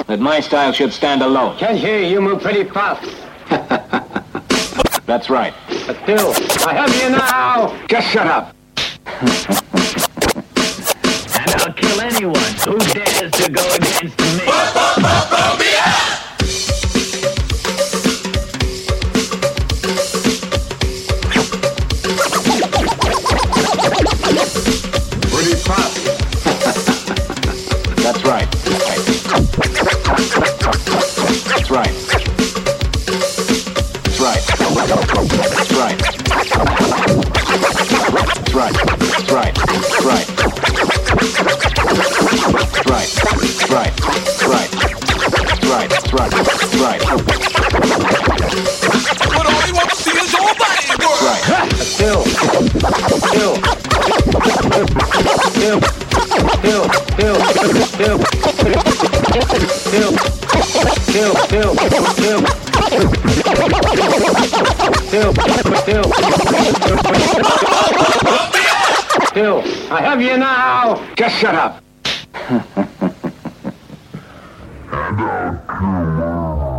that my style should stand alone. Can't hear you move pretty fast. That's right. But still, I have you now. Just shut up. And I'll kill anyone who dares to go against me. Pretty fast. That's right. That's right. That's right. That's right. That's right. That's right. That's right. That's right. That's right. That's right. That's right. That's right. That's right. But all he wants to see is your body work. Right. Still. Still, I have you now. Just shut up. And I'll kill